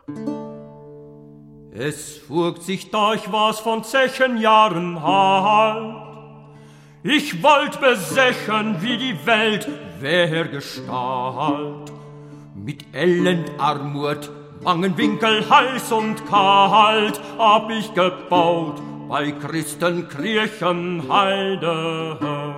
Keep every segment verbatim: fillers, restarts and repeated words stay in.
Es fugt sich durch was von zehn Jahren halt. Ich wollt besechen, wie die Welt wär Gestalt. Mit Elend, Armut, bangen Winkel, heiß und kalt, hab ich gebaut bei Christenkirchenheide.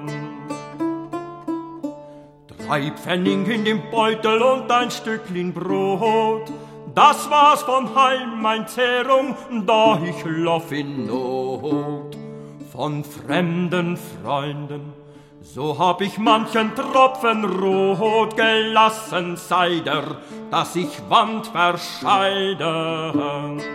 Drei Pfennig in dem Beutel und ein Stückchen Brot, das war's von heim mein Zehrung, da ich lauf in Not. Von fremden Freunden, so hab ich manchen Tropfen rot gelassen, sei der, dass ich Wand verscheide.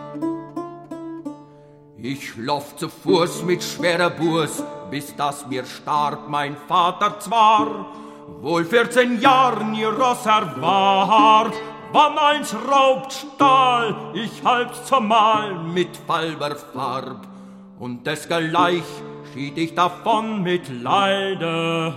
Ich lauf zu Fuß mit schwerer Burs, bis dass mir starb mein Vater zwar, wohl vierzehn Jahren ihr Ross erwahrt, wann eins raubt Stahl, ich halb's zumal mit falber Farb, und desgleich schied ich davon mit Leide.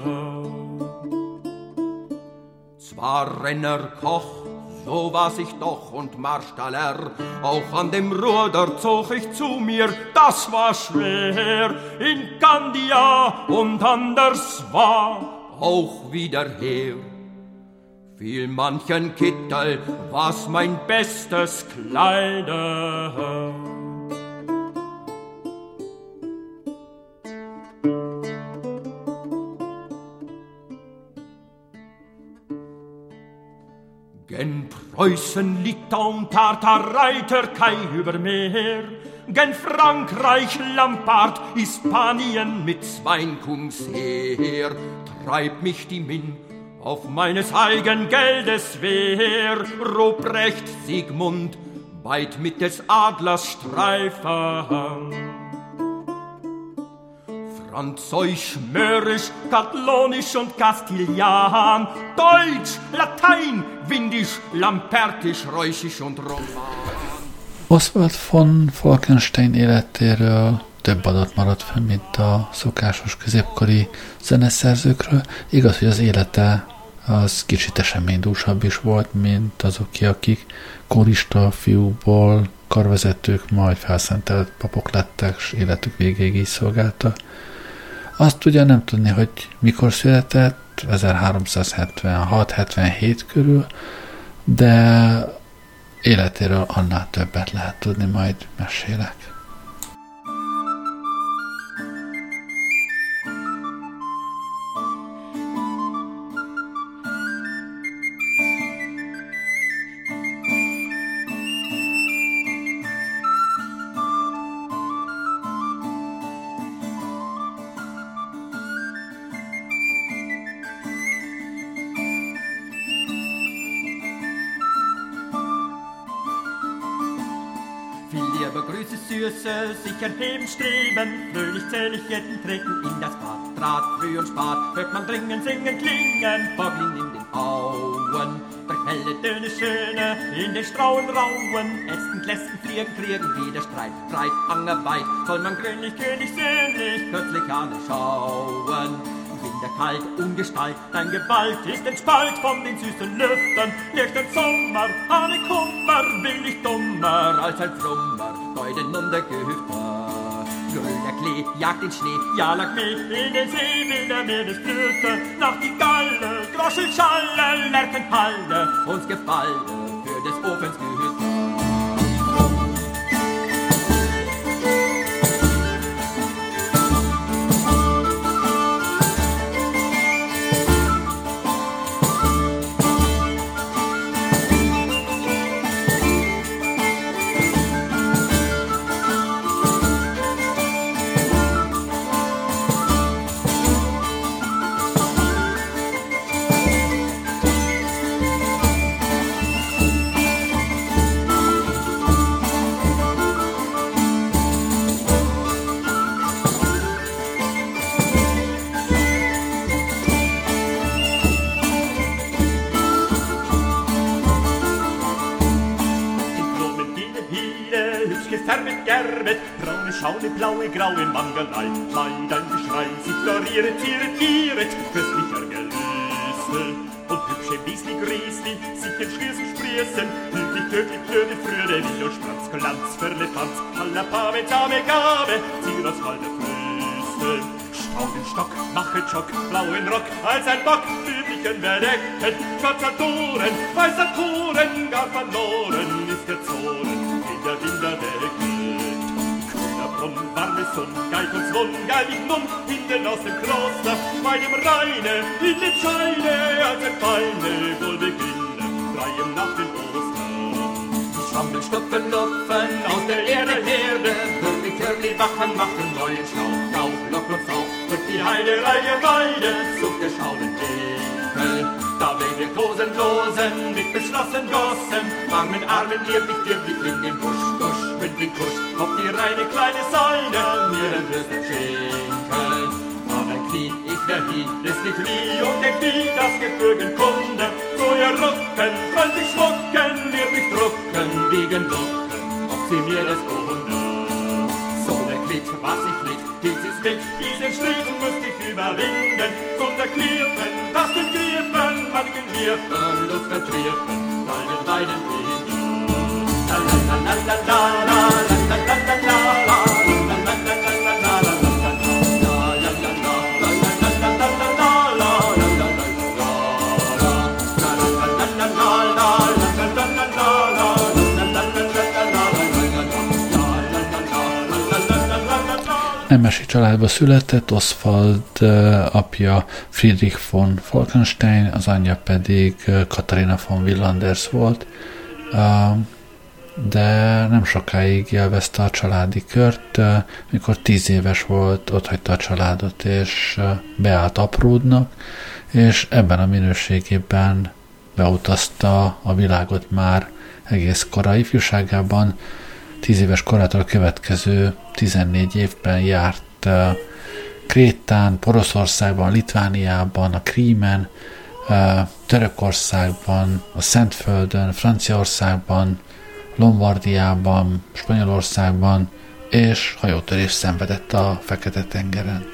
Zwar Renner, Koch, so war's ich doch, und Marstaller, auch an dem Ruder zog ich zu mir, das war schwer, in Candia und anders war auch wieder her. Fiel manchen Kittel, was mein bestes Kleide. Gen Preußen, Litauen, Tartarei, Türkei über Meer, gen Frankreich, Lampard, Hispanien mit Zweinkums Heer, treibt mich die Min auf meines eigen Geldes Wehr. Ruprecht, Siegmund, weit mit des Adlers Streifen. Französisch, Mörisch, Katalonisch und Kastilian, Deutsch, Latein, Windisch, Lampertisch, Reusisch und Roman. Oswald von Falkenstein életéről több adat maradt fenn, mint a szokásos középkori zeneszerzőkről. Igaz, hogy az élete az kicsit eseménydúsabb is volt, mint azok, akik korista fiúból karvezetők, majd felszentelt papok lettek, és életük végéig így szolgáltak. Azt ugye nem tudni, hogy mikor született, ezerháromszázhetvenhat hetvenhét körül, de életéről annál többet lehet tudni, majd mesélek. Sicher heben, streben, fröhlich, zählig, jeden treten in das Bad. Draht, früh und spat, hört man dringen, singen, klingen, Vogeln in den Auen. Durch helle, dünne, schöne, in den Strauen rauen, Ästen, Glästen, fliegen, kriegen, wieder Streit, Streit, Angerweit, soll man grünlich, könig, söhnlich, kürzlich alle schauen. Winterkalt, Ungestalt, dein Gewalt ist ein Spalt von den süßen Lüften, nicht ein Sommer, eine Kummer, will ich dummer als ein Frummer, Deuden und der Gehüfter. Grüner Klee jagt den Schnee, ja lag mich in den See, will der Meeresblüte, nach die Galle, Groschel, Schalle, Lerchenhalle, uns Gefalle für des Ofens Gehüfter. Schaune, blaue, graue Mangelei, Kleidern, Geschrei, sie floriert, tiret, gieret, köstlicher Gelüste. und hübsche Wiesli Griesli sich in Schließen sprießen, hüblich, tödlich, blöde, frühe, Will und Spratz, Glanz, Firle, Tanz, aller Pave, Zame, Gabe, zieh das Halde Füße. Staudenstock, mache Jock, blauen Rock, als ein Bock, üblichen Verdecken, schwarzer Toren, weißer Toren, gar verloren ist der Zoren, in der Winter weggeht. Grüner Brunnen, warme Sonn, Geig und Zwon, geilig Nun, hinten aus dem Kloster, bei dem Rheine, in den Scheine, als ein Feine, wohl beginnen, freiem nach dem Ostern. Schwammel, stopfen, lupfen, aus der Erde Herde, Hürli, Hürli, Wachen, machen neuen Schlauch, Lauf, Lock und Fauch, durch die Heide, Reihe, Weide, Zug der schauen Winkel. Da wen wir Kosen losen, mit beschlossen Gossen, warmen Armen, lieblich, lieblich, in den Busch, Busch, mit den Kusch, auf die reine kleine Säule, mir den Würsten Schinkel. Aber Knie, ich wär hier, ist nicht wie, und der Knie, das Gebirgen Kunde, so ihr Rücken, könnt ich schmucken, wird mich drucken, wiegen Ducken, ob sie mir das Kunde. So der Glied, was ich litt, hielt sie's mit, diesen Striefen müsst ich überwinden, zum der Klirpen, das den Klirpen, manchen Wirfen, Luft vertriefen, deinen beiden Wegen. La la la la la la la la la la la la. Nemesi családba született, Oswald apja Friedrich von Falkenstein, az anyja pedig Katharina von Willanders volt, de nem sokáig élvezte a családi kört, mikor tíz éves volt, otthagyta a családot és beállt Apródnak, és ebben a minőségében beutazta a világot már egész korai ifjúságában. Tíz éves korától következő tizennégy évben járt uh, Krétán, Poroszországban, Litvániában, a Krímen, uh, Törökországban, a Szentföldön, Franciaországban, Lombardiában, Spanyolországban, és hajótörést szenvedett a Fekete-tengeren.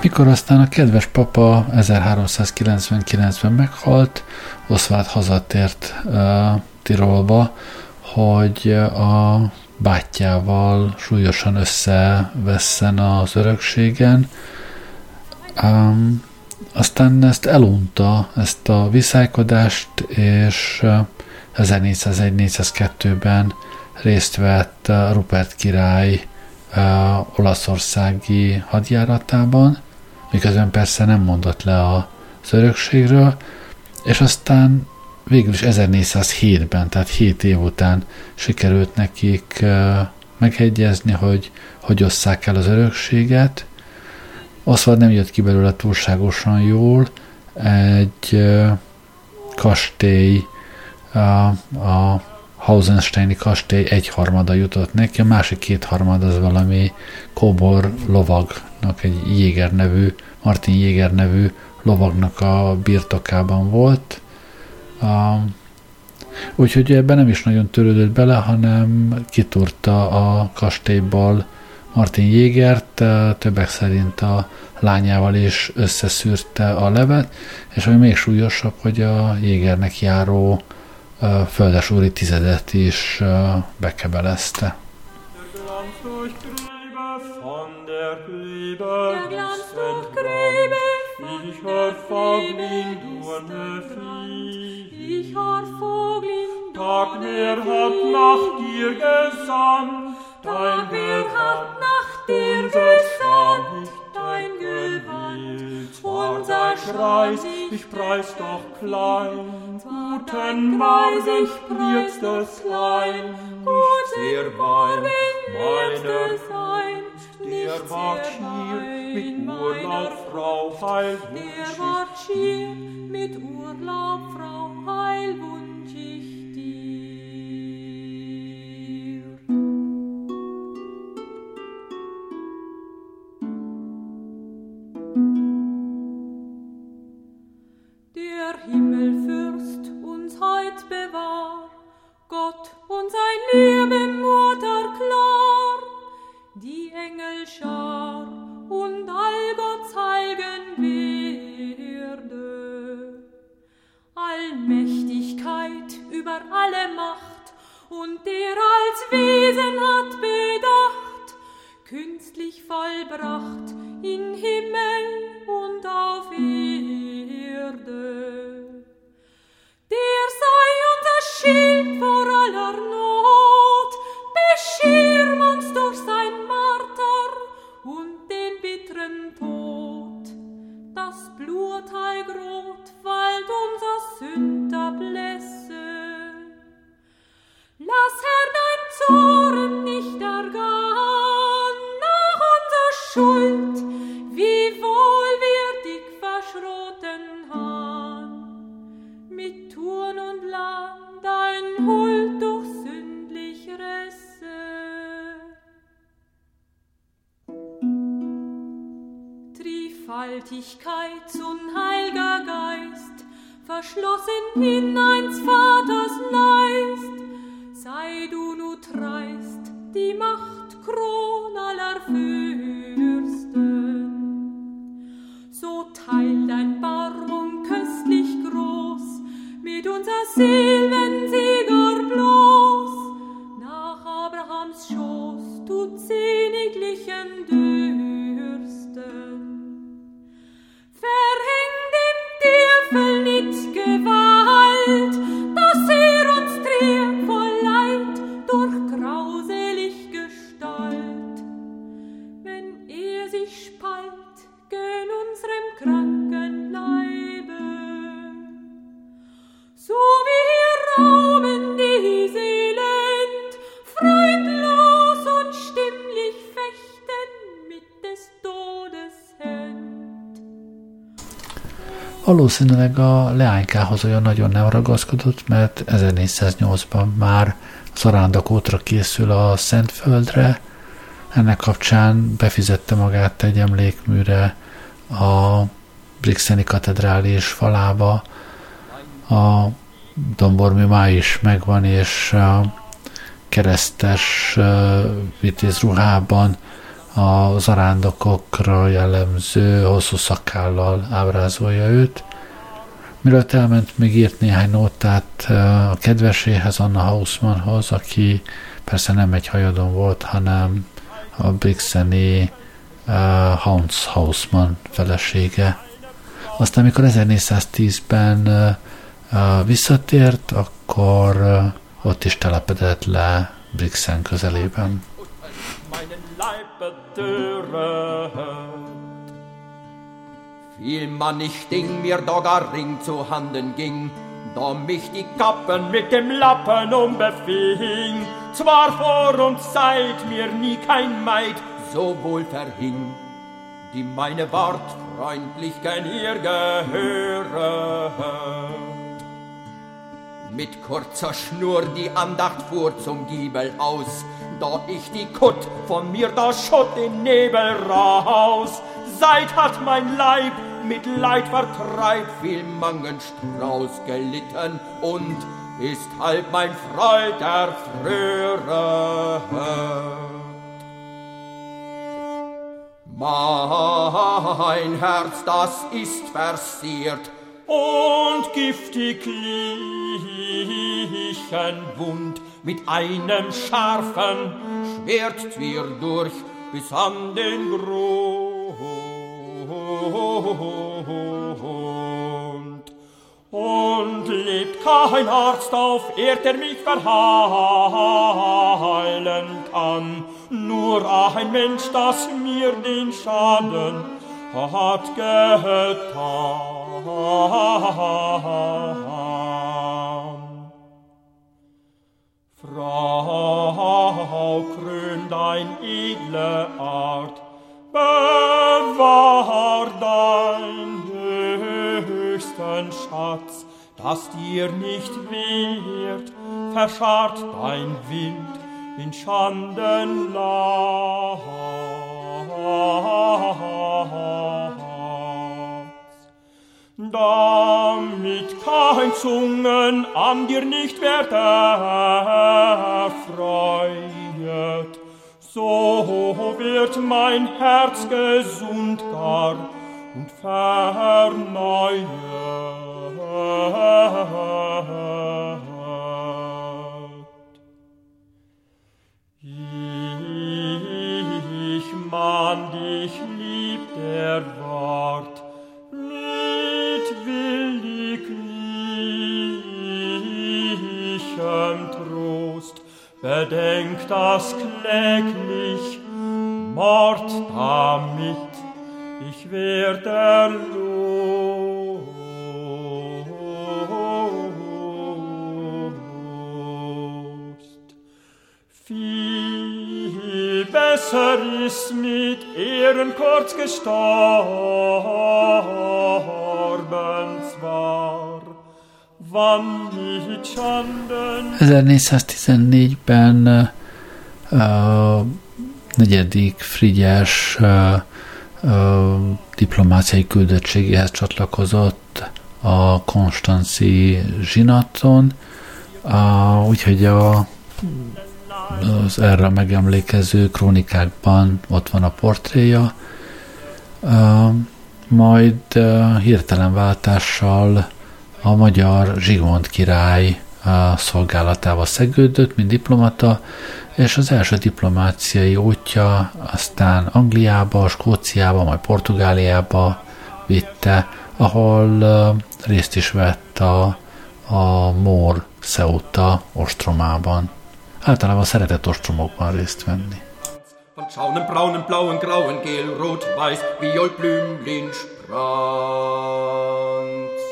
Mikor aztán a kedves papa ezerháromszázkilencvenkilencben meghalt, Oswald hazatért uh, Tirolba, hogy a bátyjával súlyosan összevesszen az örökségen. Um, aztán ezt elunta, ezt a viszálykodást, és ezernégyszázegy-négyszázkettőben részt vett Rupert király uh, olaszországi hadjáratában, miközben persze nem mondott le az örökségről, és aztán végül is ezernégyszázhétben, tehát hét év után sikerült nekik uh, megegyezni, hogy hogy osszák el az örökséget. Oswald nem jött ki belőle túlságosan jól, egy uh, kastély, uh, a Hausensteini kastély egyharmada jutott neki, a másik kétharmad az valami kóbor lovagnak, egy Jéger nevű, Martin Jéger nevű lovagnak a birtokában volt. Uh, úgyhogy ebben nem is nagyon törődött bele, hanem kitúrta a kastélyból Martin Jégert, uh, többek szerint a lányával is összeszűrte a levet, és ami még súlyosabb, hogy a Jégernek járó uh, földesúri tizedet is uh, bekebelezte. Ich har Vogel, Tag, wer hat nach dir gesandt? Tag, wer hat nach dir gesandt? Dein Gewand, unser Preis, ich preis doch klein. Guten Morgen, ich preis das klein. Guten Morgen, meiner Feind, der wart hier mit Urlaub, Frau Heilwunsch. Der wart hier mit Urlaub, Frau Heilwunsch ich dir. Der Himmelfürst uns heut bewahr, Gott und sein liebe Mutter klar, die Engelschar und all Gott's heiligen Werde. Allmächtigkeit über alle Macht und der als Wesen hat bedacht, künstlich vollbracht in Himmel und auf Erde. Der sei unser Schild vor aller Not, beschirm uns durch sein Marter und den bitteren Tod. Das Blutteigrot wallt unser Sünder blässe. Lass, Herr, dein Zorn nicht ergehen nach unserer Schuld, wie wohl wir dich verschroten han. Mit Turn und Land dein Huld durch sündlich Resse. Dreifaltigkeit und Heiliger Geist, verschlossen in eins Vaters Leist, sei du nu dreist, die Macht Kron aller Fürsten. So teil dein Barmung köstlich groß, mit unser Silbensieger bloß, nach Abrahams Schoß, du sehniglichen Dürsten. Verhäng dem Teufel nit Gewalt, dass er uns trieb voll Leid durch grauselig Gestalt. Wenn er sich spalt gen unserem kranken Leibe, so wie wir rauben die Seelend, freudlos und stimmlich fechten mit des Todes Hand. Valószínűleg a leánykához olyan nagyon nem ragaszkodott, mert ezernégyszáznyolcban már zarándokútra készül a Szentföldre. Ennek kapcsán befizette magát egy emlékműre a Brixeni katedrális falába. A dombormű ma is megvan, és a keresztes vitéz ruhában a zarándokokra jellemző hosszú szakállal ábrázolja őt. Mielőtt elment, még írt néhány nótát a kedveséhez, Anna Hausmannhoz, aki persze nem egy hajadon volt, hanem a brixeni uh, Hans Hausmann felesége. Aztán, amikor ezernégyszáztízben uh, uh, visszatért, akkor uh, ott is telepedett le Brixen közelében. Viel man nicht Ding mir da gar Ring zu Handen ging, da mich die Kappen mit dem Lappen umbefing. Zwar vor und seit mir nie kein Maid so wohl verhing, die meine Wort freundlich gen ihr gehöret. Mit kurzer Schnur die Andacht fuhr zum Giebel aus, da ich die Kutt von mir da schott den Nebel raus. Seit hat mein Leib mit Leid vertreibt viel Mangenstrauß gelitten und ist halb mein Freud erfröret. Mein Herz, das ist versiert und giftig lichen wund, mit einem scharfen Schwert zwir durch bis an den Grund. Und lebt kein Arzt auf Erd, der mich verheilen kann, nur ein Mensch, das mir den Schaden hat getan. Frau, krön dein edle Art, bewahr dein höchsten Schatz, dass dir nicht wehrt, verscharrt dein Wind in Schanden Latz. Damit kein Zungen an dir nicht wird erfreut, so wird mein Herz gesund gar und verneuert. Ich mahn dich lieb, der Wort, mit williglichem Trost, bedenk das kläglich Mord damit, ich werde lost. Viel besser ist mit Ehren kurz gestorben zwar, wann mit Schanden. ezernégyszáztizennégyben uh, negyedik Frigyes uh, uh, diplomáciai küldöttségéhez csatlakozott a konstanzi zsinaton, uh, úgyhogy a az erre megemlékező krónikákban ott van a portréja. Uh, majd uh, hirtelen váltással a magyar Zsigmond király uh, szolgálatába szegődött, mint diplomata, és az első diplomáciai útja aztán Angliába, Skóciába, majd Portugáliába vitte, ahol uh, részt is vett a, a Mór Ceuta ostromában. Általában szeretett ostromokban részt venni. Von schaunen, braunen, blauen, grauen, gel, rot, weiß, viol, blümlin, Spranz.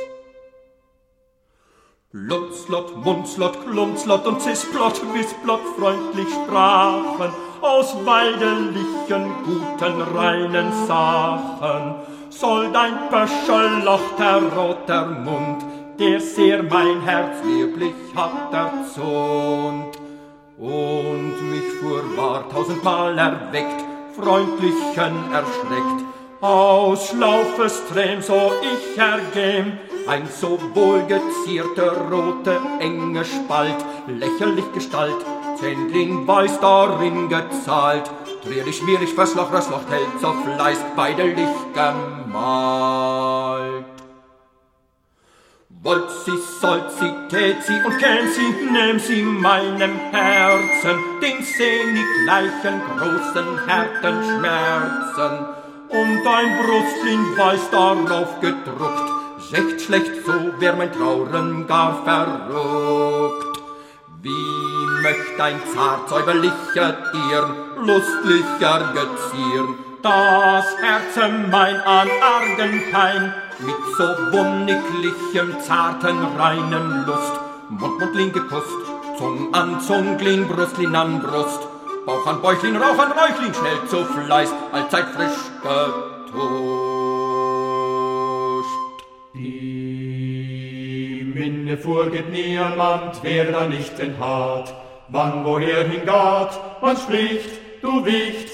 Lutzlot, Munzlot, Klunzlot und Zisplot, Wisplot freundlich sprachen aus weidelichen, guten, reinen Sachen. Soll dein Pöschelloch, der roter Mund, der sehr mein Herz lieblich hat erzont. Und mich furwahr tausendmal erweckt, freundlichen erschreckt, aus Schlaufes Träm so ich ergäm, ein so wohlgezierter, rote, enge Spalt, lächerlich Gestalt, Zentling weiß darin gezahlt, Trierlich, schmierig, Verschloch, Röschloch, hält so Fleiß, beidelig gemalt. Wollt sie, sollt sie, tät sie und kennt sie, nehm sie meinem Herzen, den sehnig gleichen großen Härtenschmerzen. Und ein Brustlin weiß darauf gedruckt, recht schlecht, so wär mein Trauren gar verrückt. Wie möcht ein zart säuberlicher Dirn lustlicher gezieren, das Herze mein an argen Pein, mit so wonniglichem, zarten, reinen Lust. Mund, Mundlin gekust, Zung an Zunglin, Brustlin an Brust, Bauch an Bäuchlin, Rauch an Räuchlin, schnell zu Fleiß, allzeit frisch getuscht. Die Minne vorgeht niemand, wer da nicht den hat. Wann woher hingeht, man spricht, du Wicht,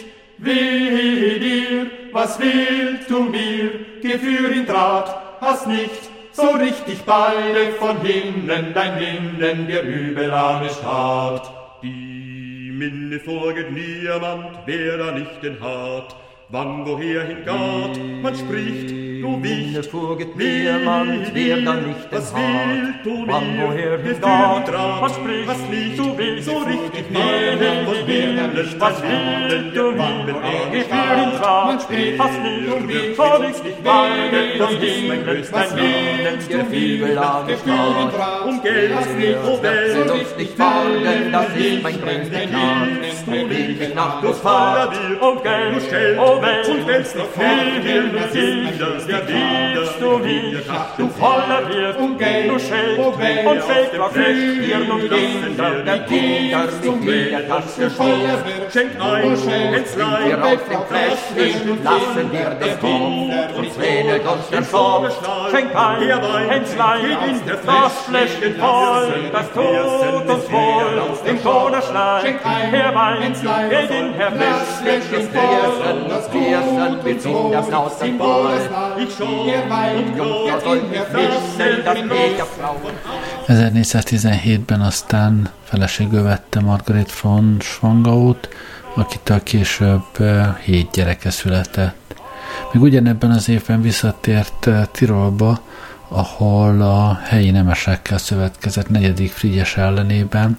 wehe dir, was willst du mir? Gefühl in Draht, hast nicht so richtig beide von hinnen, dein Linden dir übel angestarrt. Die Minne vorgeht niemand, wer da nicht den hat. Wann woher hingeht, man spricht, du Wicht, vorgeht niemand, wer da nicht was hat. willst du mir? Wann woher Gefühl hingeht, Draht, was spricht, was nicht du willst, so richtig wehe beide von dir, hinnen, was dein willst Linden du dir mir? übel Gefühl in Draht, man spricht, fast nicht, du willst, vor dich nicht beide, wehe das dir, ist mein größter was willst der du Fibel mir? angestarrt. um Geld, oh Welt, Sie uns nicht folgen, das ist mein größter Gnad. So will ich nach du Fahrt, um Geld, oh Welt, und wenn's noch fehlt, viel mit sich, liebst du mich, du voller Wirt, du Schild und Fake war frisch, Stirn und Kinder, der Kinder mit jeder Tasche voll. Schenk ein, Hänzlein, Wir auf dem Fläschchen lassen wir den Kopf und zwähnet uns der Kopf. Schenk ein, Hänzlein, das Fläschchen voll, das tut uns wohl, im Koderschlein. Herr Wein, geht in Herr Fläschchen voll, das Piercen, wir ziehen das Haus dann voll. ich schau, Jungfrau soll nicht wissen, dass ich a Frau. ezernégyszáztizenhétben aztán feleségül vette Margaret von Schwangaut, akitől később hét gyereke született. Még ugyanebben az évben visszatért Tirolba, ahol a helyi nemesekkel szövetkezett negyedik Frigyes ellenében,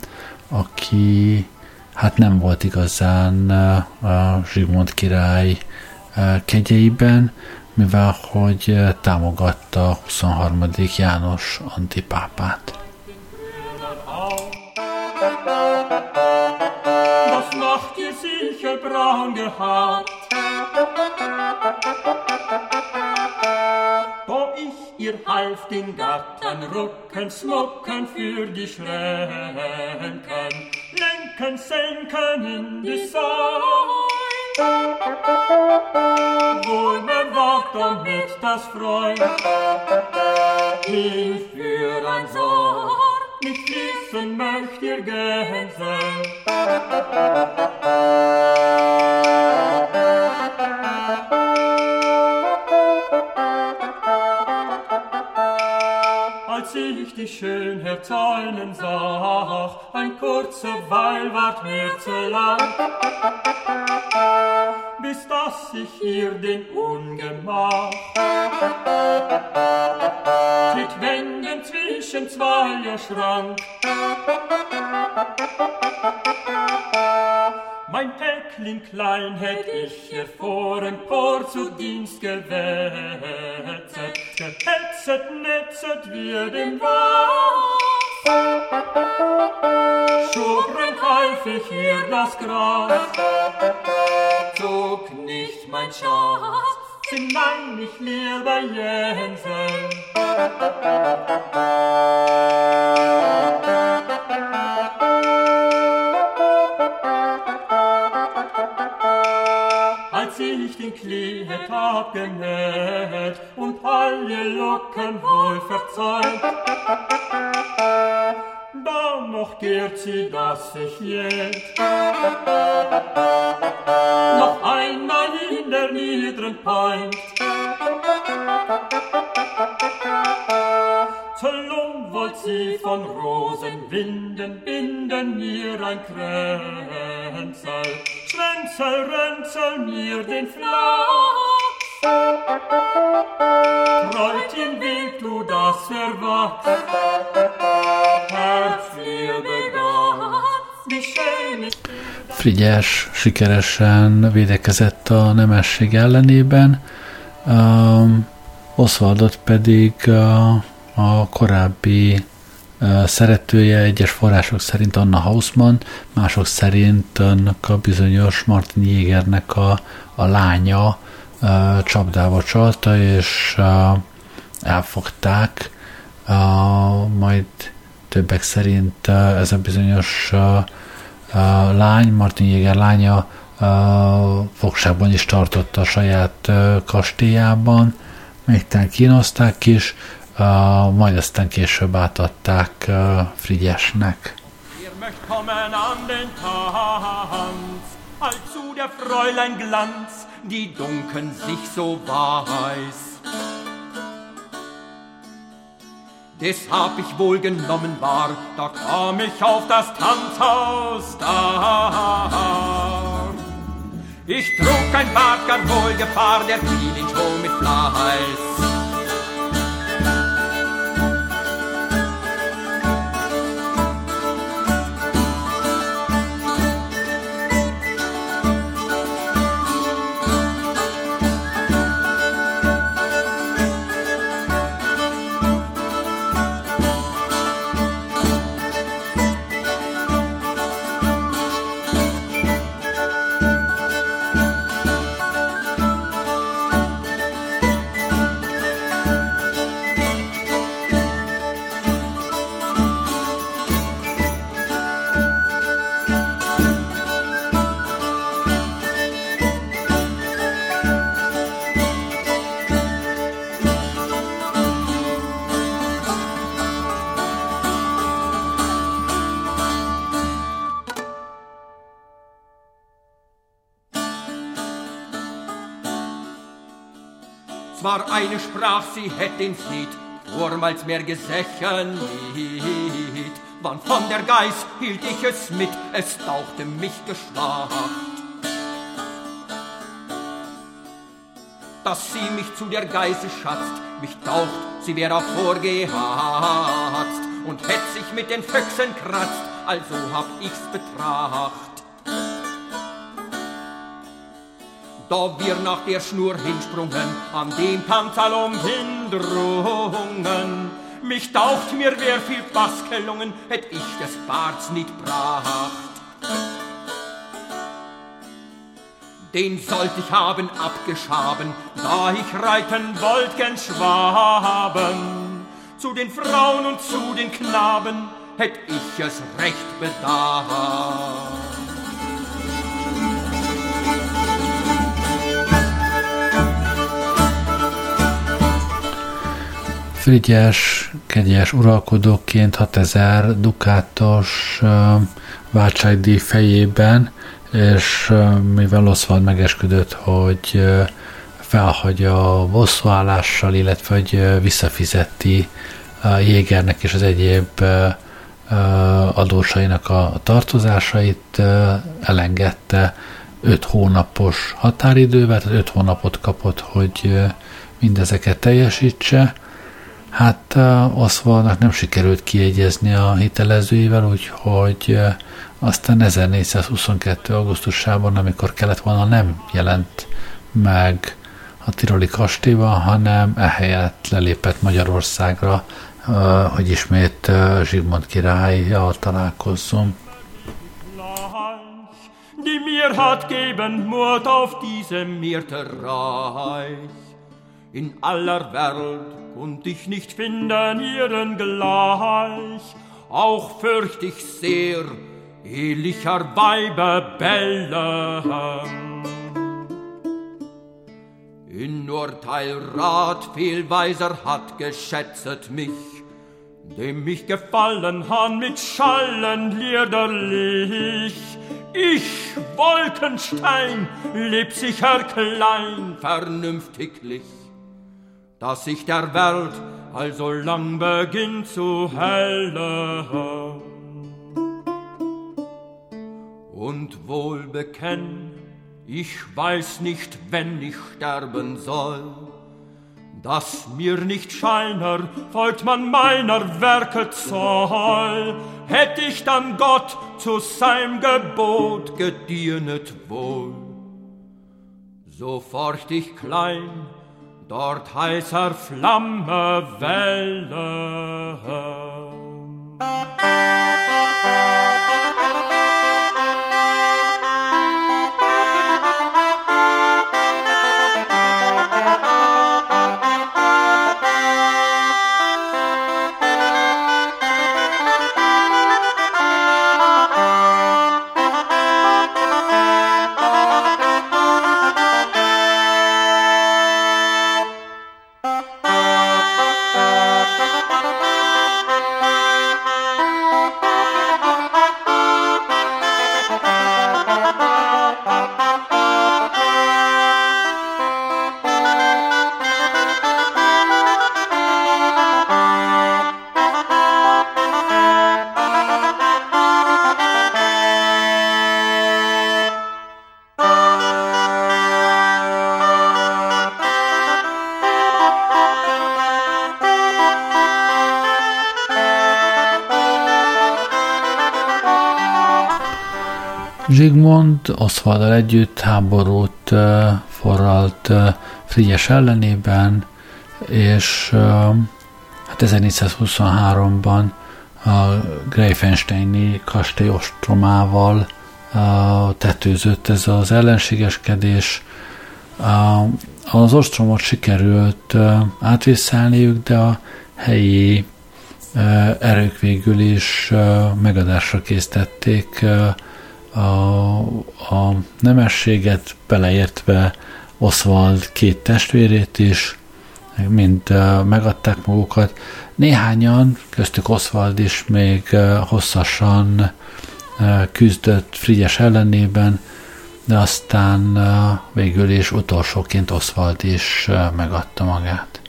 aki hát nem volt igazán a Zsigmond király kegyeiben, mivel hogy támogatta huszonharmadik János antipápát. Das macht ihr sicher braun gehabt. Da ich ihr half den Gattern rucken, smucken für die Schränken, lenken, senken in die Säule. Wohl mir wagt damit das Freund, hierfür ein Sorg, nicht wissen möcht ihr gehen sein. Als ich die Schönheit zäunen sah, ein kurzer Weil ward mir zu lang, bis dass ich ihr den Ungemach mit Wänden zwischen zweier Schrank. Mein Päckling klein hätt ich ihr vor empor zu Dienst gewetzet, gehetzet, netzet wir dem Was. Schubren half ich ihr das Gras, zog nicht mein Schatz, hinein ich leer bei Jensen. Als ich den Kleid abgenäht und alle Locken wohl verzeiht, dann noch gehrt sie, dass ich jetzt noch einmal in der niederen Pein zur Lohn wollt sie von Rosenwinden binden mir ein Kränzel. Ränzel, Ränzel mir den Flachs. Treutchen, wild du das erwachst, Herzliebe ganz, wie schön ist. Frigyes sikeresen védekezett a nemesség ellenében, um, Oswaldot pedig uh, a korábbi uh, szeretője, egyes források szerint Anna Hausmann, mások szerint annak a bizonyos Martin Jägernek a, a lánya uh, csapdába csalta, és uh, elfogták, uh, majd többek szerint uh, ez a bizonyos uh, a lány, Martin Jäger lánya a fogságban is tartotta a saját kastélyában, még talán kínozták is, majd aztán később átadták Frigyesnek. Ihr möcht kommen an den Tanz, allzu der Fräulein Glanz, die dunkeln sich so weiß. Des hab ich wohl genommen war, da kam ich auf das Tanzhaus da. Ich trug ein Bart gar wohl Gefahr, der fiel ihn schon mit Fleiß. Zwar eine sprach, sie hätt den Flied vormals mehr gesächen nicht. Wann von der Geiß hielt ich es mit, es tauchte mich geschwacht. Dass sie mich zu der Geiße schatzt, mich taucht, sie wär auch vorgehatzt und hätt sich mit den Füchsen kratzt, also hab ich's betracht. Da wir nach der Schnur hinsprungen, an dem Pantalon hindrungen, mich taucht mir, wer viel Bass gelungen, hätt ich des Barts nicht bracht. Den sollt ich haben abgeschaben, da ich reiten wollt gen Schwaben. Zu den Frauen und zu den Knaben hätt ich es recht bedacht. Frigyes kegyes uralkodóként hatezer dukátos uh, váltságdíj fejében, és uh, mivel Oswald megesküdött, hogy uh, felhagyja a bosszúállással, illetve hogy uh, visszafizeti uh, Jägernek és az egyéb uh, uh, adósainak a, a tartozásait, uh, elengedte öt hónapos határidővel, tehát öt hónapot kapott, hogy uh, mindezeket teljesítse. Hát uh, Oswaldnak nem sikerült kiegyezni a hitelezőivel, úgyhogy uh, aztán ezernégyszázhuszonkettő. augusztusában, amikor kellett volna, nem jelent meg a tiroli kastélyban, hanem ehelyett lelépett Magyarországra, uh, hogy ismét uh, Zsigmond királlyal találkozzon. Die mir hat geben Mord auf diesem Myrtenreich. In aller Welt konnt ich nicht finden ihren gleich, auch fürcht ich sehr ehlicher Weiber bellen. In Urteil Rat viel weiser hat geschätzet mich, dem mich gefallen han mit Schallen liederlich. Ich, Wolkenstein, leb sicher klein, vernünftiglich, dass sich der Welt also lang beginnt zu hellen. Und wohl bekenn, Ich weiß nicht, wenn ich sterben soll, dass mir nicht scheiner folgt man meiner Werke Zoll. Hätt ich dann Gott zu seinem Gebot gedienet wohl, so forcht ich klein, dort heißer Flamme Welle. Zsigmond Osvalddal együtt háborút uh, forralt uh, Frigyes ellenében, és uh, hát ezernégyszázhuszonháromban a Greifensteini kastély ostromával uh, tetőzött ez az ellenségeskedés. Uh, az ostromot sikerült uh, átvészelniük, de a helyi uh, erők végül is uh, megadásra késztették uh, A, a nemességet, beleértve Osvald két testvérét is, mind uh, megadták magukat. Néhányan, köztük Osvald is még uh, hosszasan uh, küzdött Frigyes ellenében, de aztán uh, végül is utolsóként Osvald is uh, megadta magát.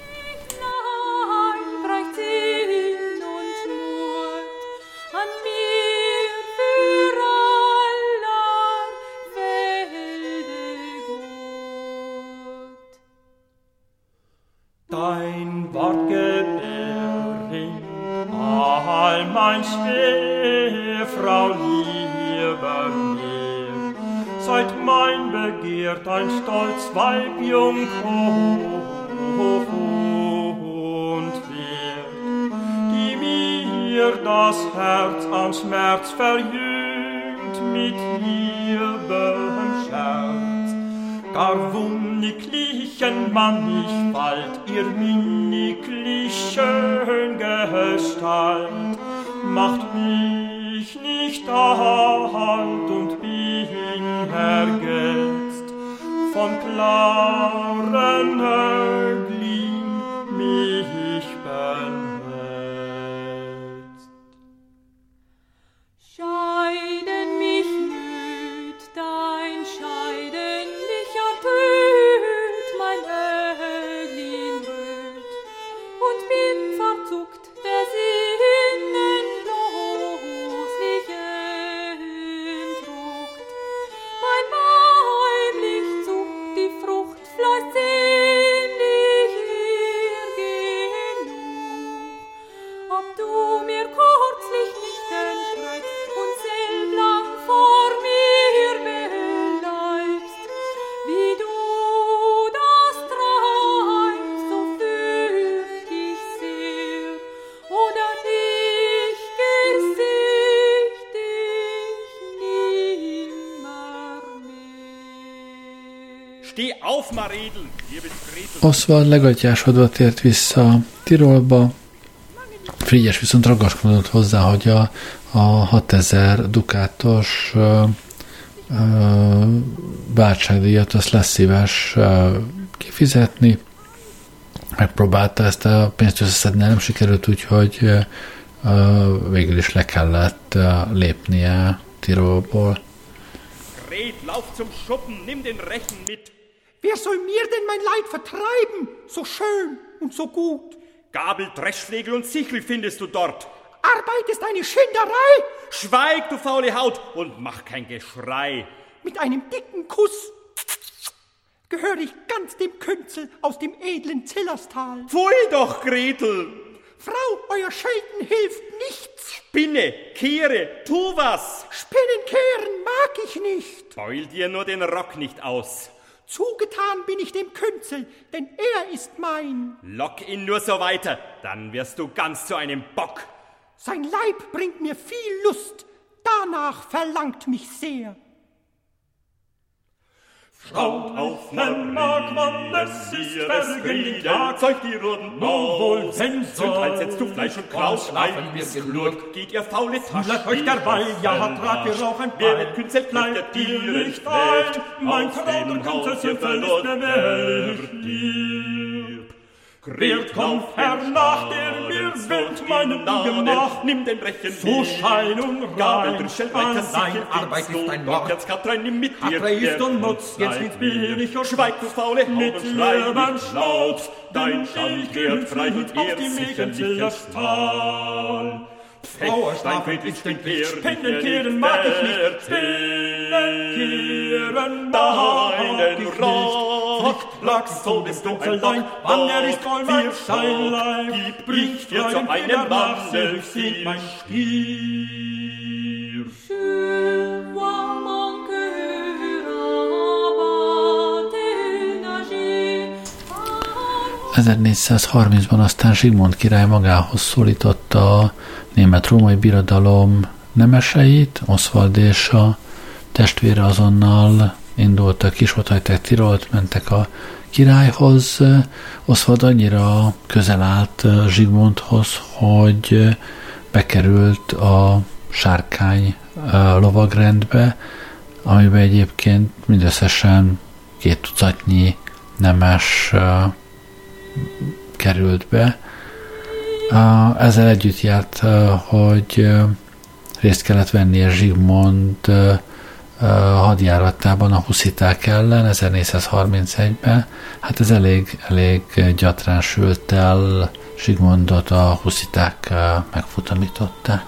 Dein Wort gebäring, all mein Schwefrau lieber mir, seit mein Begehr dein stolz Weib jung und wert, die mir das Herz an Schmerz verjüngt mit liebem Scherz. Gar wunniglichen Mann ich bald, ihr minniglichen Gestalt, macht mich nicht Hand und bin ergetzt, von klaren Äuglin mich benetzt. Scheiden mich nüt, dein Scheiden mich ertönt, mein Äuglin röt, und bin verzuckt der Sinnen bloßlich entdruckt. Mein Weiblich zuckt, die Frucht fleißt sehnlich ihr genug. Ob du mir kurzlich nicht entschreibst und selblang vor mir bleibst, wie du das treibst, so fürcht ich sehr, oder ich gesicht dich nimmer mehr. Steh auf, Maredel! Wir betreten... Osvald legatyásodva tért vissza Tirolba, Frigyes viszont ragaszkodott hozzá, hogy a, a hatezer dukátos ö, ö, váltságdíjat azt lesz szíves ö, kifizetni. Megpróbálta ezt a pénzt összeszedni, nem sikerült, úgyhogy ö, ö, végül is le kellett ö, lépnie Tirolból. Red, lauf zum Schuppen, nimm den Rechen mit. Wer soll mir denn mein Leid vertreiben? So schön und so gut. Gabel, Dreschflegel und Sichel findest du dort. Arbeit ist eine Schinderei. Schweig, du faule Haut, und mach kein Geschrei. Mit einem dicken Kuss gehöre ich ganz dem Künzel aus dem edlen Zillerstal. Pfui doch, Gretel! Frau, euer Schelten hilft nichts. Spinne, kehre, tu was! Spinnen kehren mag ich nicht. Beul dir nur den Rock nicht aus. Zugetan bin ich dem Künzel, denn er ist mein. Lock ihn nur so weiter, dann wirst du ganz zu einem Bock. Sein Leib bringt mir viel Lust, danach verlangt mich sehr. Schaut auf, man mag man, es ist vergehen Tag, zeigt die Roten Nun wohl, wenn Zum Teil setzt du Fleisch und Kraus, schlafen wir genug. Geht ihr faule Taschen, Lasst euch derweil, ja, hat Rat, ihr Rauch ein wer Bein. mit Künzel Bleibt ihr nicht ein, mein Traum und Künzel sind verlust mir mächtig. Wer kommt hernach, der mir wild meinen gemacht? Nimm den Brechen So schein und rein, allein Arbeit ist ein Mord. Jetzt Katrein, nimm mit dir. Atre ist und Nutz, jetzt nichts billig und Schweig, du faule Haube, mit schrei Leben nicht laut. Schnauz, Dein denn Schand ich kehrt bin frei und auf ehrt die sicherlich Mägen ins Tal. Frau, Fechtstein, ist den ständig, Kehren, Spinnenkehren mag ich nicht, Spinnenkehren mag Deinen ich nicht. Rock, Lachs so bist du allein, wann er ist voll mein Scheinlein, Gib ich dir zu einem Manne singt mein Stier. ezernégyszázharmincban aztán Zsigmond király magához szólította a német-római birodalom nemeseit, Oswald és a testvére azonnal indultak, is ott hagyták Tirolt, mentek a királyhoz. Oswald annyira közel állt Zsigmondhoz, hogy bekerült a sárkány lovagrendbe, amiben egyébként mindösszesen két tucatnyi nemes került be. Ezzel együtt járt, hogy részt kellett vennie Zsigmond hadjáratában a husziták ellen ezernégyszázharmincegyben. Hát ez elég, elég gyatrán sült el, Zsigmondot a husziták megfutamították.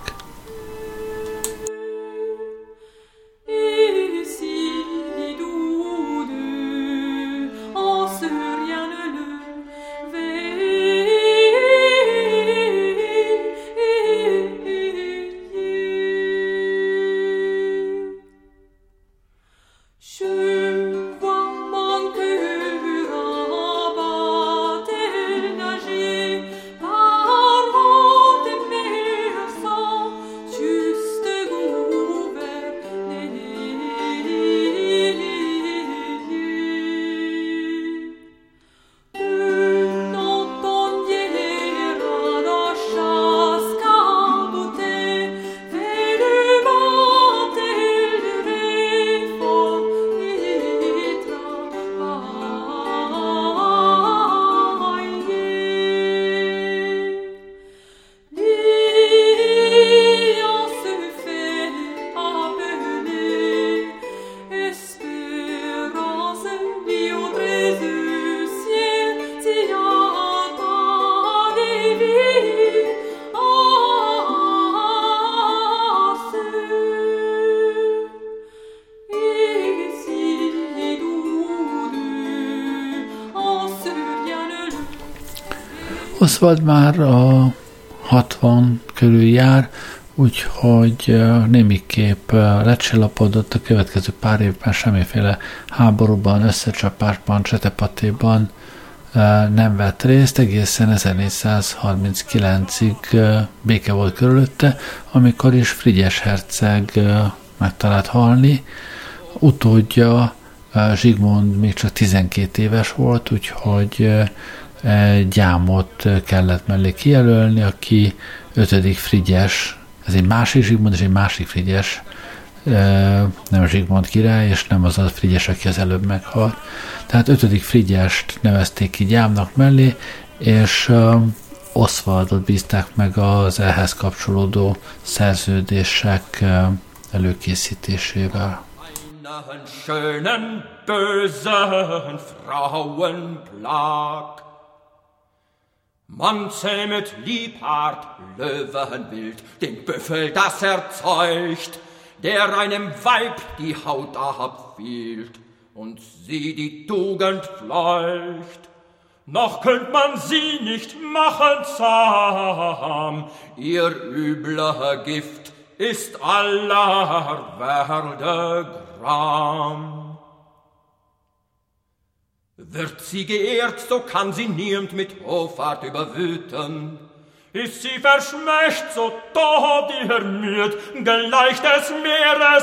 Oswald már a hatvan körül jár, úgyhogy némiképp lecsillapodott, a következő pár évben semmiféle háborúban, összecsapásban, csetepatéban nem vett részt, egészen ezernégyszázharminckilencig béke volt körülötte, amikor is Frigyes herceg megtalált halni. Utódja Zsigmond még csak tizenkét éves volt, úgyhogy gyámot kellett mellé kijelölni, aki ötödik Frigyes, ez egy másik Zsigmond és egy másik Frigyes, nem Zsigmond király, és nem az a Frigyes, aki az előbb meghalt. Tehát ötödik Frigyest nevezték ki gyámnak mellé, és Oswaldot bízták meg az ehhez kapcsolódó szerződések előkészítésével. Einen schönen, bösen Frauenplag. Man zähmet Liebhart, Löwenwild, den Büffel, das erzeugt, der einem Weib die Haut abfielt. und sie die Tugend fleucht. Noch könnt man sie nicht machen zahm, ihr übler Gift ist aller Werde Gram. Wird sie geehrt, so kann sie niemand mit Hoffart überwüten. Ist sie verschmächt, so tobt ihr Müd, gleich des Meeres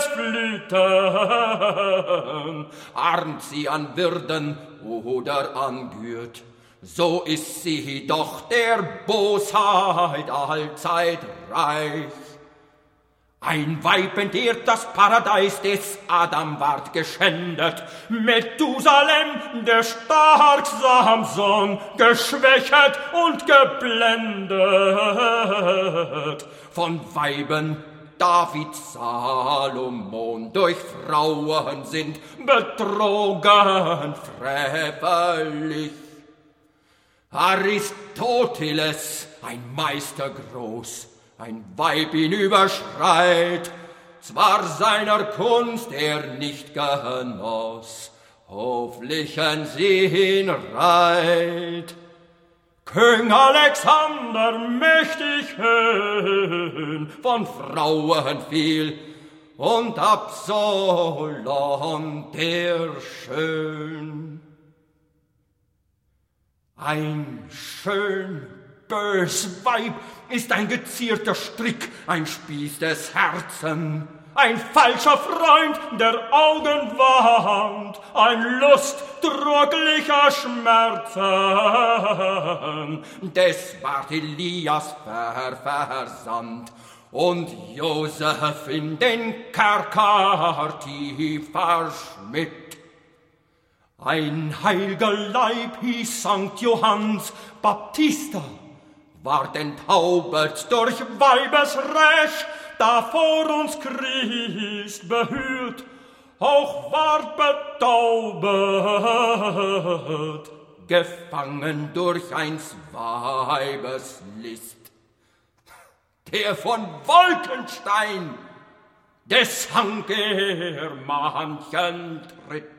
Flüten. Armt sie an Würden oder an Gürt, so ist sie doch der Bosheit allzeit reich. Ein Weib entehrt das Paradies des Adam ward geschändet, Methusalem, der stark Samson, geschwächet und geblendet. Von Weiben David, Salomon durch Frauen sind betrogen, frevellich. Aristoteles, ein Meister groß, ein Weib ihn überschreit, zwar seiner Kunst er nicht genoss, hoflichen sie hinreit. König Alexander mächtig höhn, von Frauen viel, und Absalom der schön. Ein schön bös Weib ist ein gezierter Strick, ein Spieß des Herzen, ein falscher Freund der Augen warnt, ein lustdrucklicher Schmerzen. Des ward Elias ver versandt und Josef in den Kerker tief verschmitt. Ein heilger Leib hieß Sankt Johannes Baptista, ward enttaubet durch Weibesrecht, da vor uns Christ behüt, auch ward betaubet, gefangen durch eins Weibes List. Der von Wolkenstein, des hangt er manchen Tritt.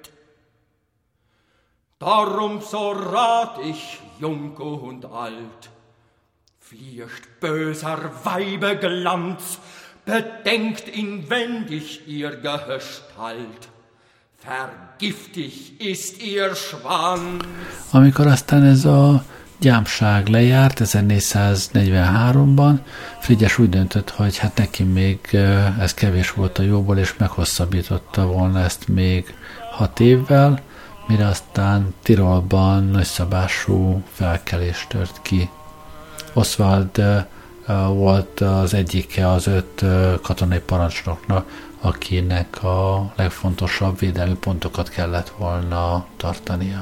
Darum so rat ich, jung und alt, fürcht böser Weibe Glanz, bedenkt inwendig ihr Gestalt, vergiftig ist ihr Schwanz. Amikor aztán ez a gyámság lejárt ezernégyszáznegyvenháromban, Frigyes úgy döntött, hogy hát neki még ez kevés volt a jóból, és meghosszabbította volna ezt még hat évvel, mire aztán Tirolban nagyszabású felkelés tört ki. Oswald uh, volt az egyike az öt uh, katonai parancsnoknak, akinek a legfontosabb védelmi pontokat kellett volna tartania.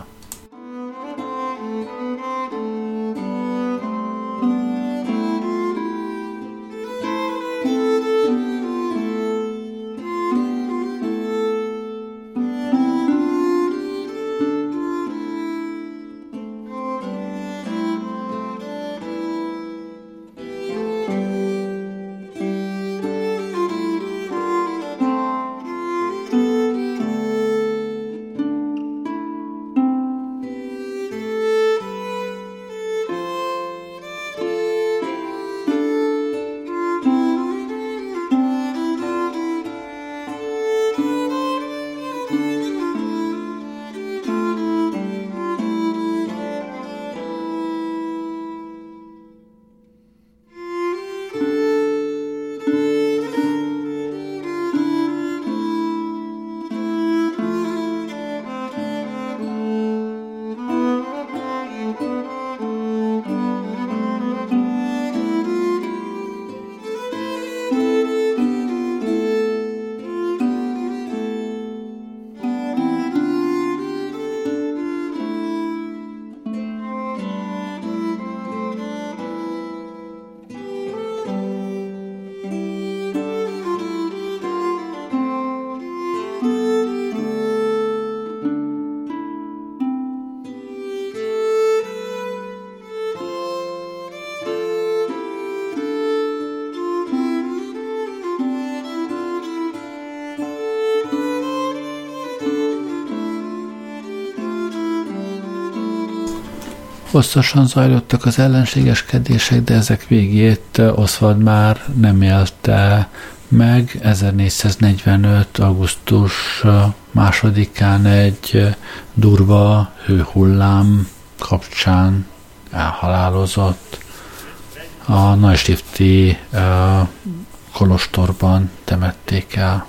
Hosszasan zajlottak az ellenségeskedések, de ezek végét Oswald már nem élte meg. ezernégyszáznegyvenöt. augusztus másodikán egy durva hőhullám kapcsán elhalálozott. A Neustifti uh, kolostorban temették el.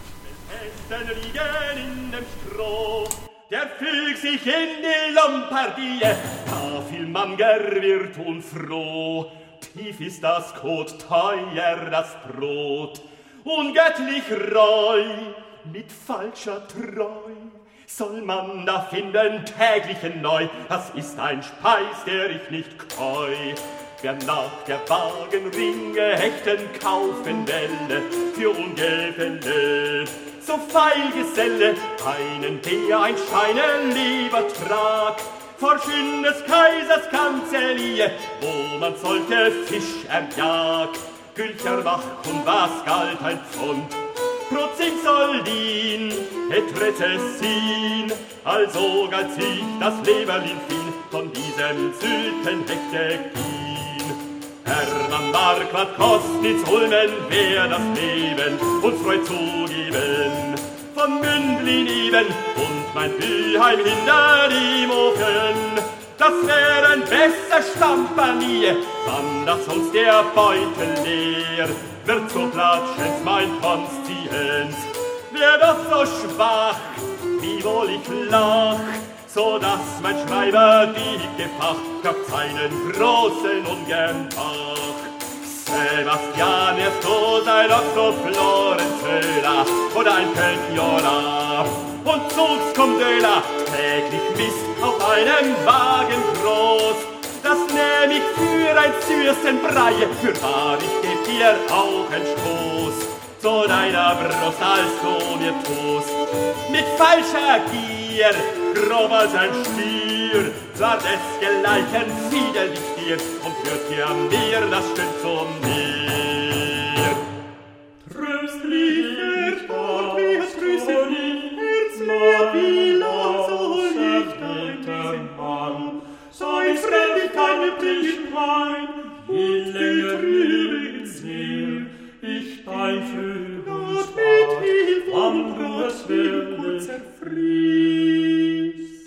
Der fügt sich in die Lombardie, da viel Manger wird unfroh. Tief ist das Kot, teuer das Brot, ungöttlich Reu, mit falscher Treu. Soll man da finden täglich neu, das ist ein Speis, der ich nicht keu. Wer nach der Wagenringe Hechten kaufen welle, für Ungefälle, so feil Geselle, einen der ein Scheine lieber trag, vor schönes Kaisers Kanzelie, wo man solche Fisch erjag. Gülcher wach und was galt ein Pfund, Prozent soll dien, et Rezessin, also galt sich das Leberlin fin, von diesem süßen Hechte ging. Hermann Marquardt Kostnitz Ulmen, wer das Leben uns freut zugeben, von Mündlin eben und mein Büheim hinter dem Ofen, das wären besser Stampanie, wann das uns der Beutel leer, wird so platschens mein Konstienz, wär doch so schwach, wie wohl ich lach, so dass mein Schreiber die Gefahr gab seinen großen ungern Bach. Sebastian erst so sein Otto Florenzöler oder ein Pensionar und Zugs kommt Döler, täglich Mist auf einem Wagen groß. Das nehm ich für ein Zürstenbrei, für wahr ich geb dir auch ein Stoß zu deiner Brust, als du mir tust. Mit falscher Gier, grob als ein Stier, zwar desgleichen fiedel ich dir und führt dir mir das Stück zu mir. Tröstlich erspart, wie es grüßet mich, Herz mehr, wie lang soll ich dein Mann? Sei es fremd, keine Tischwein, wie länger übrigens her, ich dein Frühlingsbad, wann du es werde zerfriest.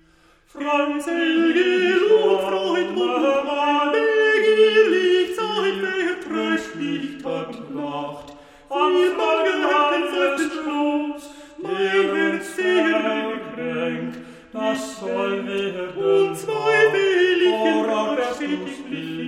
Freundselige Luft, Freund und Mann, begierlich Zeit, wer tröstlich dort lacht, am Morgenhaken seufzt Schluss, der wird sehr gekränkt, das soll werden, und zweifelig worauf er sich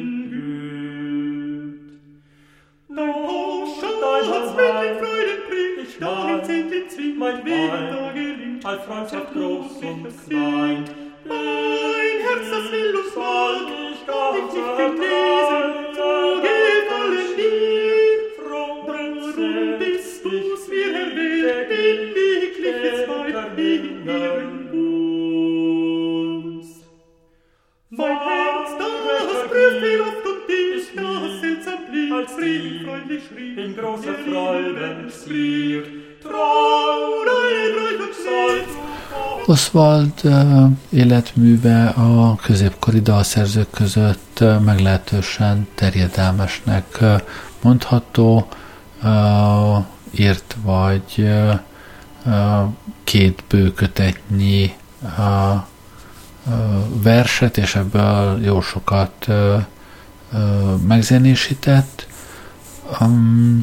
hingehört. Dein Poschen, dein hat's mit den Freuden bringt, nach dem Zehnten zwingt mein Weg da gelingt, all Freundschaft groß und klein. Mein Herz, das will uns bald, ich kann dich nicht genießen, so gefallen dir. Drum bist du's mir erwählt, in wirkliches Weib in uns. Mein Herz, das prüft die Luft und dich, das seltsam blieb, als Frieden freundlich schrieb, in großer Freuden ziert. Trau, dein Reich und Salz, Oswald uh, életműve a középkori dalszerzők között uh, meglehetősen terjedelmesnek uh, mondható. Uh, írt vagy uh, uh, két bőkötetnyi uh, uh, verset, és ebből jó sokat uh, uh, megzenésített. Um,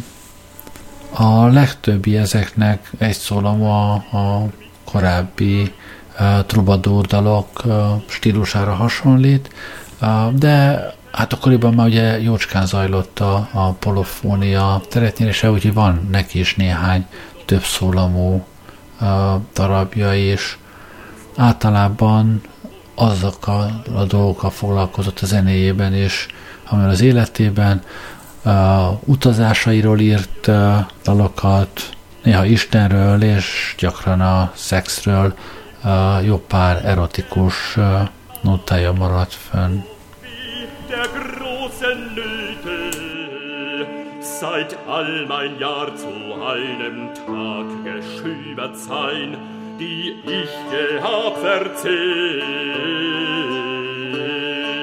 a legtöbbi ezeknek egy szólamú a, a korábbi uh, troubadour dalok uh, stílusára hasonlít, uh, de hát akkoriban már ugye jócskán zajlott a, a polofónia teretnyerése, úgyhogy van neki is néhány több szólamú uh, darabja is. Általában azokkal a dolgokkal foglalkozott a zenéjében is, amivel az életében, uh, utazásairól írt uh, dalokat, néha Istenről, és gyakran a szexről, uh, jó pár erotikus uh, notája maradt fönn. Der großen Nöte, seit all mein Jahr zu einem Tag geschübert sein, die ich gehab verzehrt.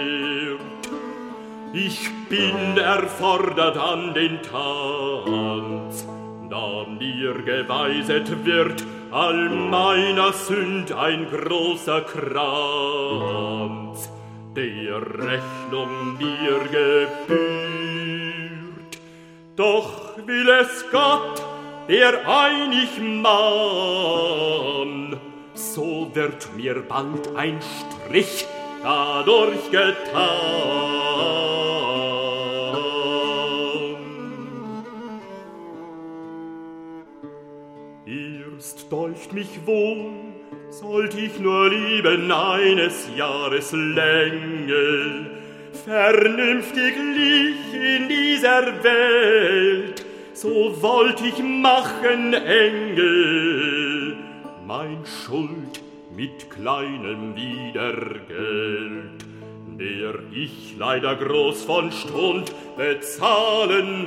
Ich bin erfordert an den Tanz, da mir geweiset wird all meiner Sünd ein großer Kranz, der Rechnung mir gebührt. Doch will es Gott, der einig Mann, so wird mir bald ein Strich dadurch getan. Erst deucht mich wohl, sollt ich nur lieben eines Jahres Länge, vernünftig lieg in dieser Welt, so wollt ich machen Engel, mein Schuld mit kleinem Wiedergeld, der ich leider groß von Stund bezahlen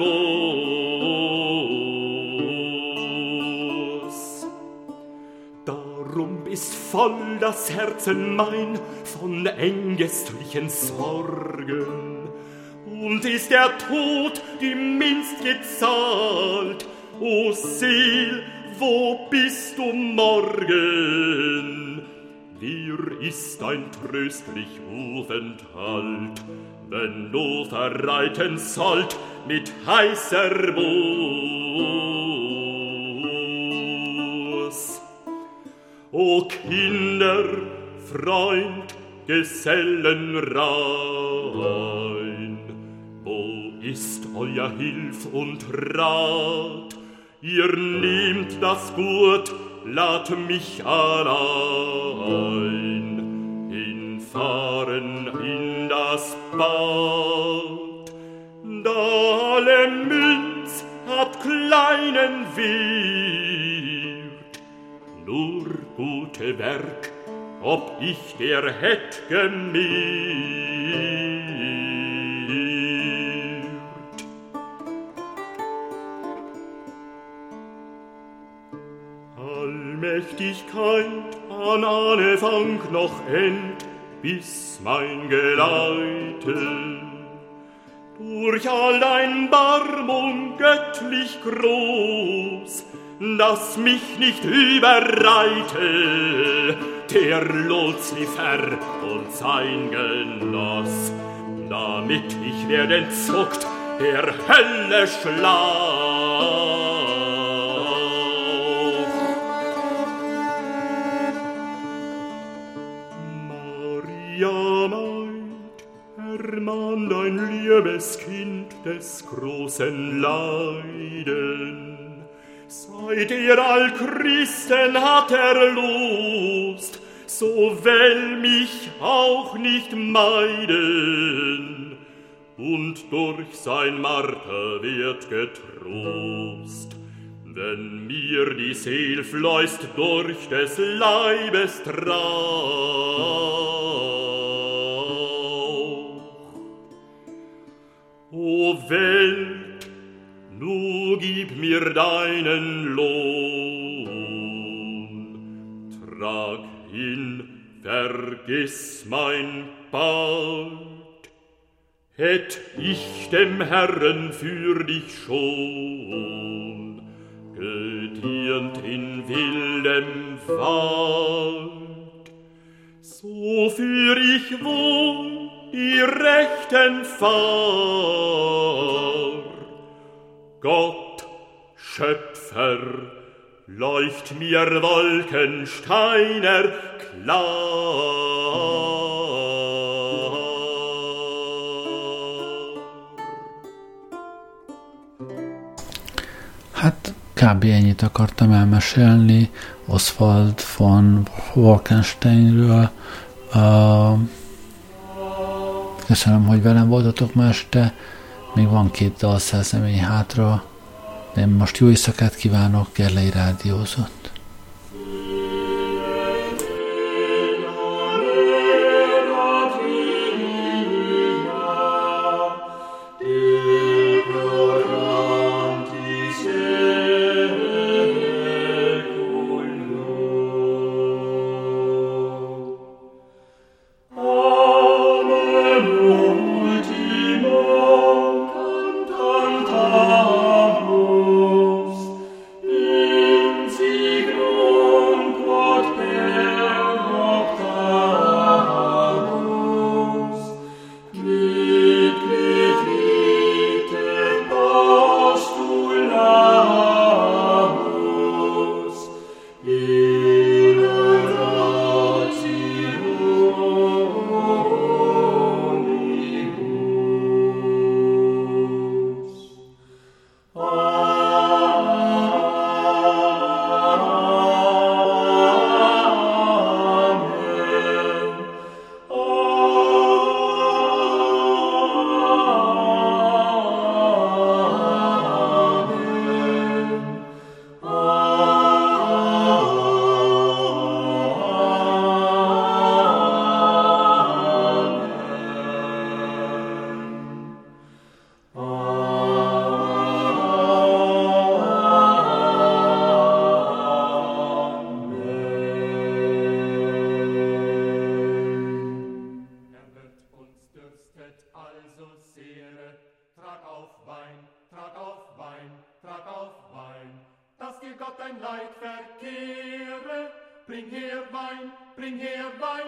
muss. Darum ist voll das Herzen mein von ängstlichen Sorgen, und ist der Tod die minst gezahlt, o Seel, wo bist du morgen? Dir ist ein tröstlich Aufenthalt, wenn du verreiten sollt mit heißer Buß. O Kinder, Freund, Gesellenrein, wo ist euer Hilf und Rat? Ihr nehmt das Gut, lad mich allein hinfahren in das Bad. Da alle Münz hat kleinen Wert, nur gute Werk, ob ich der hätt gemehrt. Allmächtigkeit an Anfang noch End, bis mein Geleite durch all dein Barmung göttlich groß, dass mich nicht überreite der Luzifer und sein Genoss, damit ich werde entzuckt der Hölle Schlag. Ja, meint, ermahn dein liebes Kind des großen Leiden. Seit er all Christen hat erlost, so will mich auch nicht meiden, und durch sein Marter wird getrost, wenn mir die Seel fleust durch des Leibes Trauch. O Welt, nu gib mir deinen Lohn, trag hin, vergiss mein Bad, hätt ich dem Herren für dich schon gedient in wildem Wald, so führ ich wohl die rechten Fahr. Gott, Schöpfer, leucht mir Wolkensteiner klar. Hát kb. Ennyit akartam elmesélni Oswald von Falkensteinről. Uh, köszönöm, hogy velem voltatok ma este. Még van két dalszerzemény hátra. Én most jó éjszakát kívánok, Gerlei rádiózott. Amen, ultimo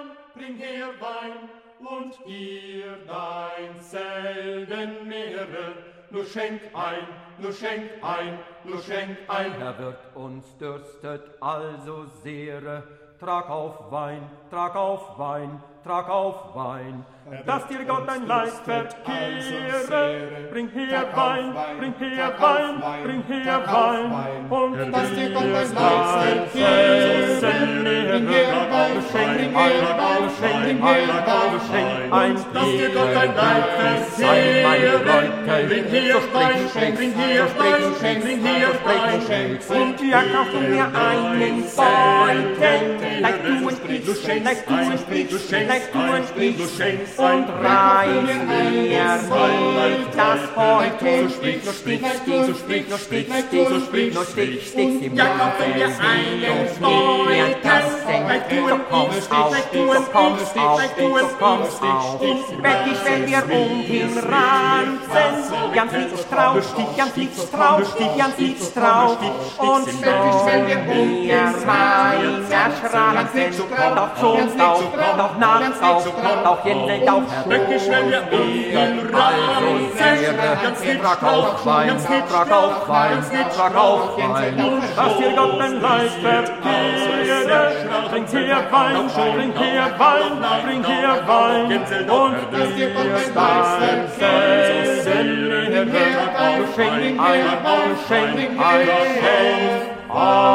bring her Wein, und ihr dein selben Meere, nur schenk ein, nur schenk ein, nur schenk ein. Herr Wirt, uns dürstet also sehr, trag auf Wein, trag auf Wein, trag auf Wein, dass dir Gott dein Leid verkehre. Bring her Wein, bring her Wein, bring her Wein, und dass dir Gott dein Leid verkehre. Bring her Wein, schenk ein, schenk ein, schenk ein, dass dir Gott dein Leid verkehre. Bring her Wein, bring her Wein, bring her Wein, und ja, kaufst du mir einen Beutel, like du und ich, like du und ich, like du und ich, und reiß mir das Beutel, stich, nur stich, stich, stich, nur stich, stich, stich, nur stich, stich, im Mund, und mir das senkt, du kommst auf, du kommst auf, du kommst auf, werd ich, wenn wir um ihn ranzen, ganz nichts drauf, ganz nichts drauf, ganz nichts drauf, und so mir rein erschranken, doch schon auf, doch nachts auf, doch jeden auf, Wirklich, wenn wir um ihn ranzen, ganz nichts drauf, ganz nichts drauf, ganz nichts drauf, dass dir Gott dein Leid verkehre. Bring her Wein, bring her Wein, bring her Wein, und dass dir Gott dein Leid verkehre. Schenk ein, schenk ein, schenk ein.